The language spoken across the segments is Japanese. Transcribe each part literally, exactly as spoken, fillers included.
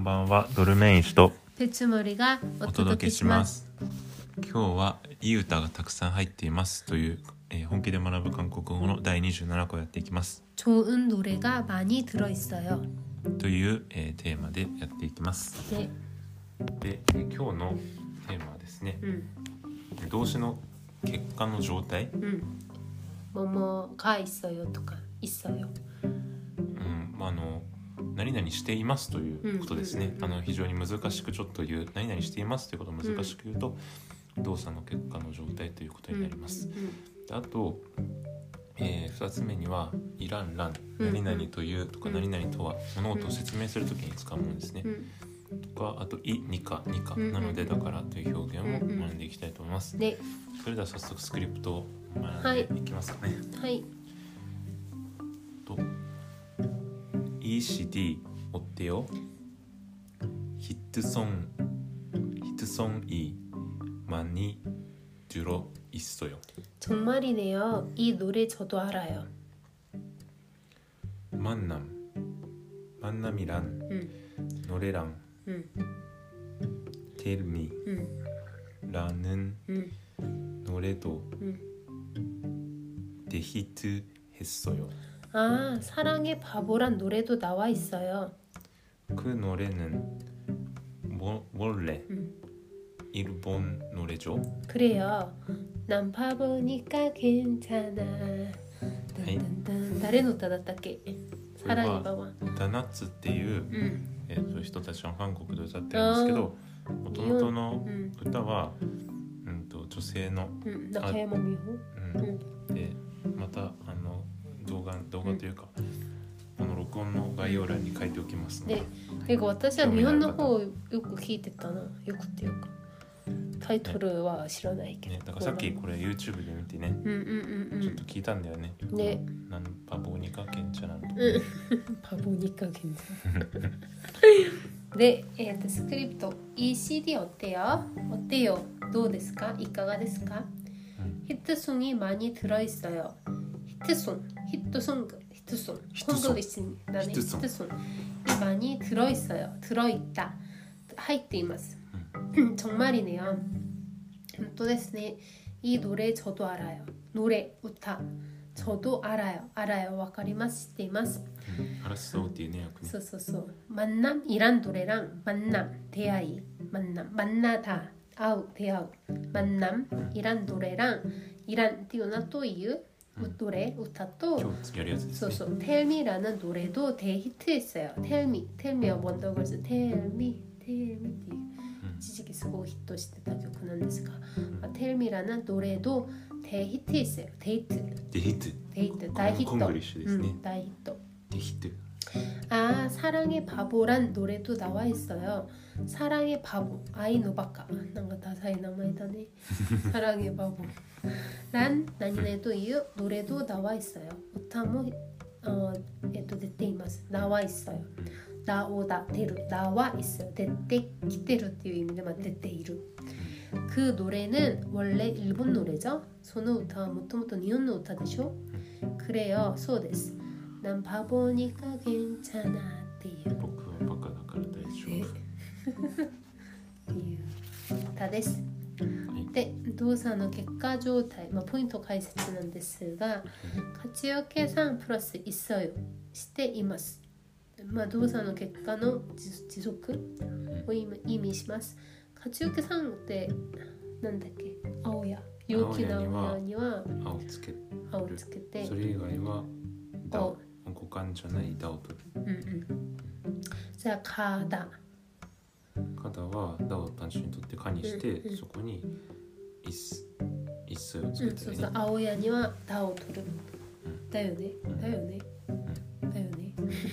ばんは。ドルメイン氏とペツモリがお届けします。今日はいい歌がたくさん入っていますという、えー、本気で学ぶ韓国語のだいにじゅうななこをやっていきます。 좋은 노래가 많이 들어있어요 という、えー、テーマでやっていきます。 ね、 で、えー、今日のテーマはですね、 うん、 動詞の結果の状態、 うん、뭐뭐가 있어요とか있어요、 うんまあ、あの何々していますということですね、うんうんうん、あの非常に難しくちょっと言う何々していますということを難しく言うと、うん、動作の結果の状態ということになります、うんうんうん、であと、えー、ふたつめにはいらんらん、何々というとか、うんうん、何々とは物事を説明するときに使うものですね、うん、とかあとい、にか、にか、うんうん、なのでだからという表現を学んでいきたいと思います、うんうん、それでは早速スクリプトを学んでいきますかね。 はい、はい、 と이씨디 어때요? 히트송 히트송이 많이 들어 있어요. 정말이네요. 이 노래 저도 알아요. 만남 만남이란 응. 노래랑 응. 텔미 응. 라는 응. 노래도 응. 데히트했어요. 아, 사랑의 바보란 노래도 나와 있어요. 그 노래는 뭐, 원래 음. 일본 노래죠? 그래요. 난 바보니까 괜찮아.誰の歌だったっけ? 사랑의 바보. 다나츠 っていう、 うんえー、そういう人たちは韓国で歌ってるんですけど、もともとの歌は、うん、と女性の、 うん、中山美穂、 うんうん、でまたあの動画動画というか、うん、この録音の概要欄に書いておきますので、 で、私は日本の方をよく聞いてたな。よくっていうかタイトルは知らないけど、ねね、だからさっきこれ YouTube で見てね、 うんうんうんうん、 ちょっと聞いたんだよね。 ね、 なんパボニカケンチャなのとか、 うん、パボニカケンチャで、えーと、スクリプト 이씨디 어때요? 어때요? どうですか? いかがですか? 히트송이 많이 들어있어요. 히트송, 히트송, 히트송, 콩글리시 나네. 히트송이 많이 들어있어요. 들어있다, 入っています. 정말이네요. 또ですね. 이 노래 저도 알아요. 노래, 우타. 저도 알아요. 알아요. わかります. 知っています. 알았어. っていうね。 そうそうそう. 만남이란 노래랑 만남, 대하이, 만남, 만나다, 아우, 대하우. 만남이란 노래랑 이란 っていうのはという노래, 우타 또そうそう Tell me라는 노래도 대히트했어요. Tell me, Tell me of Wondergirls, Tell me, Tell me っていう一時期すごいヒットしてた曲なんですが、まあ、Tell me라는 노래도 대히트했어요. 데이트. 데이트. 데이트. 다히트. 콩글리시ですね. 음, 다히트. 데이트. 아, 사랑의 바보란 노래도 나와 있어요. 사랑의 바보. 아이노바카. 뭔가 다사의名前だね. 사랑의 바보. 란何々という 노래도 나와 있어요. 우타모 어, えっと出ています. 나와 있어요. 나오다, 出る. 나와 있어요. 出てきてるっていう意味でまあ出ている. 그 노래는 원래 일본 노래죠. その歌はもともと日本の歌でしょ. 그래요. そうです. 난 바보니까 괜찮아 っていう。 僕はバカだから大丈夫。 っていう歌です。 はい、 で、動作の結果状態、まあ、ポイント解説なんですが、活用計算プラス있어요しています。まあ、動作の結果の持続を意味します。活用計算ってなんだっけ？青や陽気な青やには青つける。 青つけて、 それ以外は青。五感じゃないダを取る。 うんうん。じゃあカダ。 カダはダを単純に取ってカにして、うんうん、そこにイスイスをつけて、ね、うん、そうそう。青やにはダを取る。うん、だよね。だよね。うん、だよね。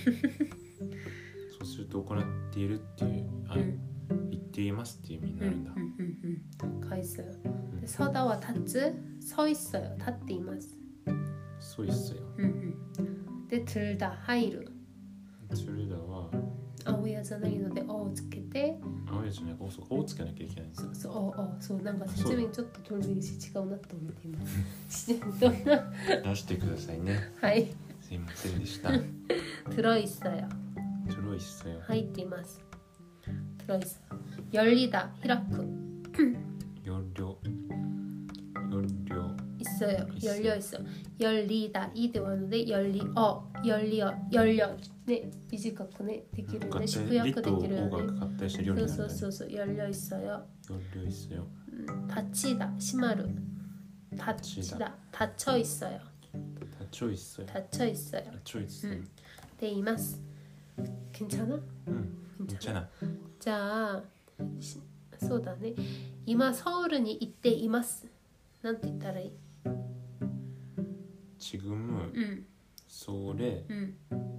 そうすると行っているっていう、あ、うん、言っていますっていう意味になるんだ。 うんうんうんうん。가 있어요。で、서다は立つ、서 있어요。立っています。 서 있어요。 うんうん。で、들다入る。 들다は青やじゃないのでおをつけて。 青やじゃないか、そうか、おをつけなきゃいけないんです。 そうそう、おお、そうなんか説明ちょっとトルミンし違うなと思って今。 出してくださいね。 はい。 すいませんでした。 들어 있어요。 들어 있어요。 入っています。 들어있어요. 열리다, 히라쿠 열려 열려 있어요. 있어요. 열려 있어. 열리다 이대 왔는데 열리 어 열려 열려 네 이지카쿠네 되기를 시쿠야쿠 リと 되기를 オが合体して料理なんだね。 소소소소 열려 있어요. 열려 있어요. 음, 닫히다 시마루 닫히다 닫혀 있어요. 닫혀 있어요. 닫혀 있어요. 닫혀 있어요. 음. 네 이마스 괜찮아? 응, 괜찮아. 자, 시, そうだね. 이마 서울은 이때 이마스. なんて言ったらいい? 지금은 응. 서울에 응.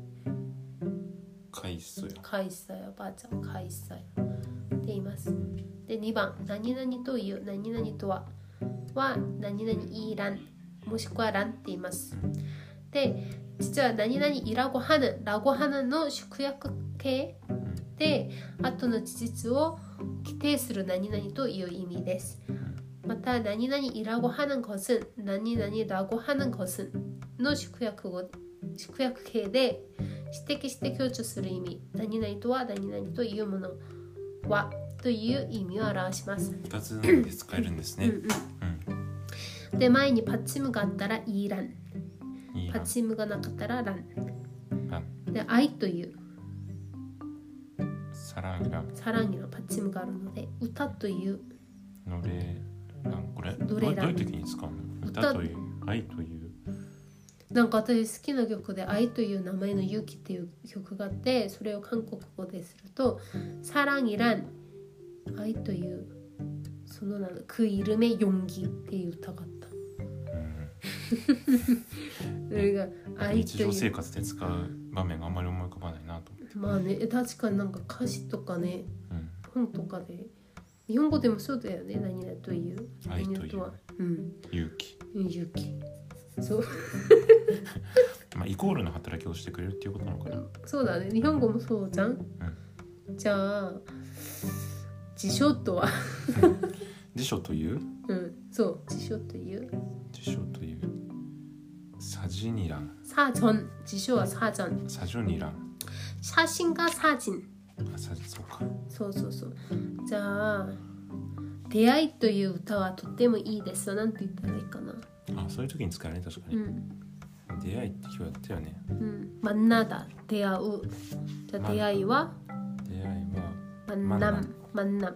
가 있어요. 가 있어요. 맞아. 가 있어요. 네 이마스. 네, 이 번. 何々という何々とはは何々いらんもしくはらんって言います. 네, 진짜 何々이라고 하는 라고 하는の縮約形で後の事実を規定する何々という意味です. また何々이라고 하는 것은何々라고 하는 것은の縮約語縮約形で指摘して強調する意味何々とは何々というものはという意味を表します。 ふたつで使えるんですね。 うんうん、で前にパッチムがあったらイーラン、 いいなパッチムがなかったらラン。 ランで愛というサランランサランギのパッチムがあるので歌というノレランこれノレランどういう時に使うの？歌という愛というなんか私好きな曲で愛という名前の勇気っていう曲があってそれを韓国語でするとサランイラン愛というその名の그 이름의 용기っていう歌があった。それが愛という日常生活で使う場面があんまり思い浮かばないなと思って。 まあね確かになんか歌詞とかね、 うん、 本とかで日本語でもそうだよね何々という愛という何々とは、うん、 勇気勇気そうまあイコールの働きをしてくれるっていうことなのかな。 そうだね日本語もそうじゃん、うん、じゃあ辞書とは辞書といううんそう辞書という辞書というサジニラン 사전辞書は사전 サジョニラン写真과 사진 あサジそうかそうそうそうじゃあ出会いという歌はとってもいいですなんて言ったらいいかなあそういう時に使えるね確かに、うん、出会いって今日やったよねうん만나다出会うじゃあ出会いは出会いは 만남 만남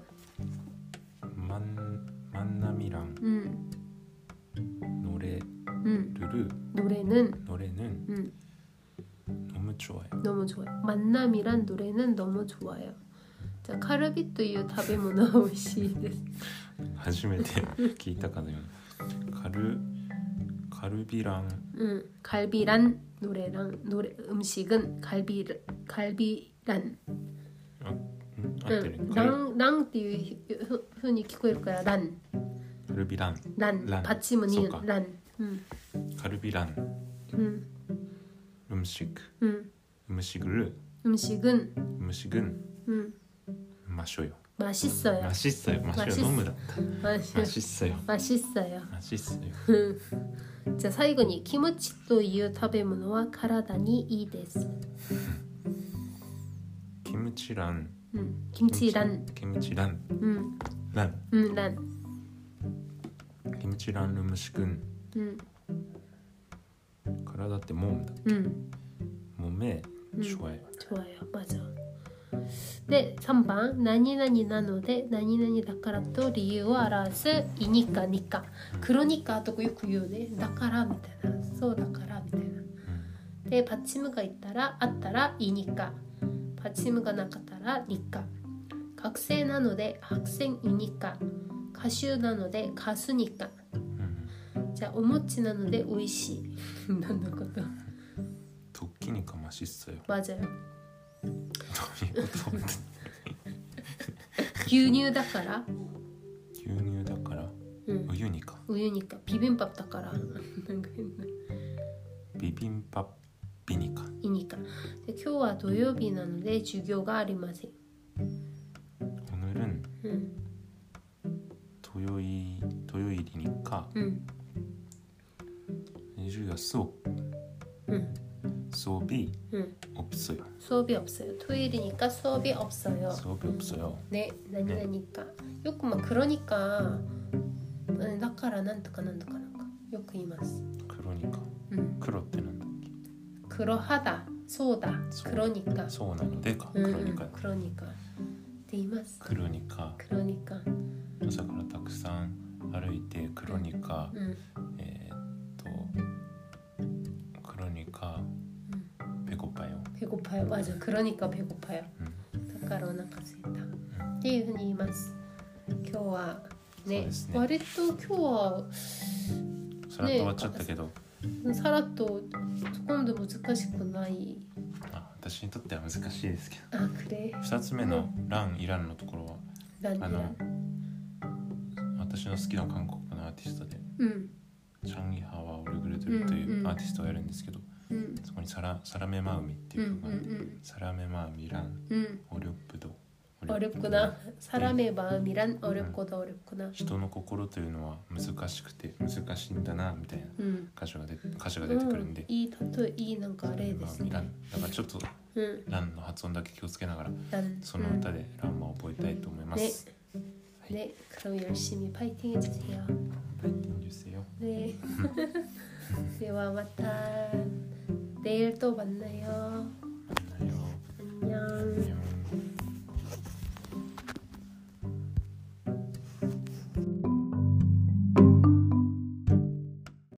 만 만남이랑 음. 노래를 음. 노래는 노래는 음. 너무 좋아요. 너무 좋아요. 만남이란 노래는 너무 좋아요. 자, 카르비 という食べ物は美味しいです。 初めて聞いたかのような。カル 갈비랑 응, 갈비란 노래랑 노래 음식은 갈비 갈비란. 아, 음, 응, 랑, 랑っていう風に聞こえるから란. 갈비란. 란. 받침은 이 란. 응. 갈비란. 응. 음식. 응. 음식을. 음식은. 음식은. 응. 마셔요. 맛있어요. 맛있어요. 마셔요. 너무 다. 맛있어요. 맛있어요. 맛있어요. 자, 最後にキムチという食べ物は体にいいです。 김치란. 음, 김치란. 김치란. 음. 란. 음, 란. 김치란 음식은 음. 体って몸. 음. 몸에 음. 좋아요. 좋아요. 맞아. 네, さんばん何々なので何々だからと理由を表すイニカニカ黒ニカとかよく言うねだからみたいなそうだからみたいなでパチムがいったらあったらイニカパチムがなかったらニカ学生なので白線イニカ歌手なのでカスニカじゃあお餅なので美味しい何のこと 도끼니까 맛있어요. 맞아요. どういうこと？ 牛乳だから牛乳だから、うん、ウユニかウユニかビビンパだからなんか変なビビンパビニカイニカで今日は土曜日なので授業がありません 오늘은 응. 토요일, 토요일이니까 응. 이주가 수업 응. 수업이 응. 없어요. 수업이 없어요. 토요일이니까 수업이 없어요. 수업이 없어요. 네,何々니까. 요거 막 그러니까 음, だからなんとかなんとかなんかよく言います. 그러니까. 음. 그러ってなんだっけ? 그러하다, 소다, 소- 그러니까. そうなのでか. 음, 그러니까. 음, 그러니까. って言います. 그러니까. 그러니까. 朝からたくさん歩いて 그러니까. 음, 에, 또 그러니까 음. 배고파요. 배고파요. 맞아. 그러니까 배고파요. 음. だからお腹空いた. っていうふうに言います. 今日はね、 そうですね。 割と今日はさらっと終わっちゃったけど、 さらっとそこまで難しくない。 あ、私にとっては難しいですけど。 あ、くれ。 ふたつめのラン、イランのところはなんであの私の好きな韓国のアーティストで、 うん、 チャンギハワ・オルグルドゥルというアーティストがいるんですけど、 うん、 そこにサラ、サラメマウミっていう曲があって、 うんうんうん、 サラメマウミラン、 うん、 オリョップド、 어렵구나. 사람의 마음이란 어렵고도 어렵구나. 人の心というのは難しくて難しいんだなみたいな 음. 歌詞が出歌詞が出てくるんで、 음, 이例えいいなんかあれですね。 ランだからちょっと 음. ランの発音だけ気をつけながら 란. その歌でランマを覚えたいと思いま 네. す。 네, 그럼 열심히 파이팅 해주세요. 파이팅 해주세요. 네. 대화 마타. 내일 또 만나요. 만나요. 안녕. 안녕.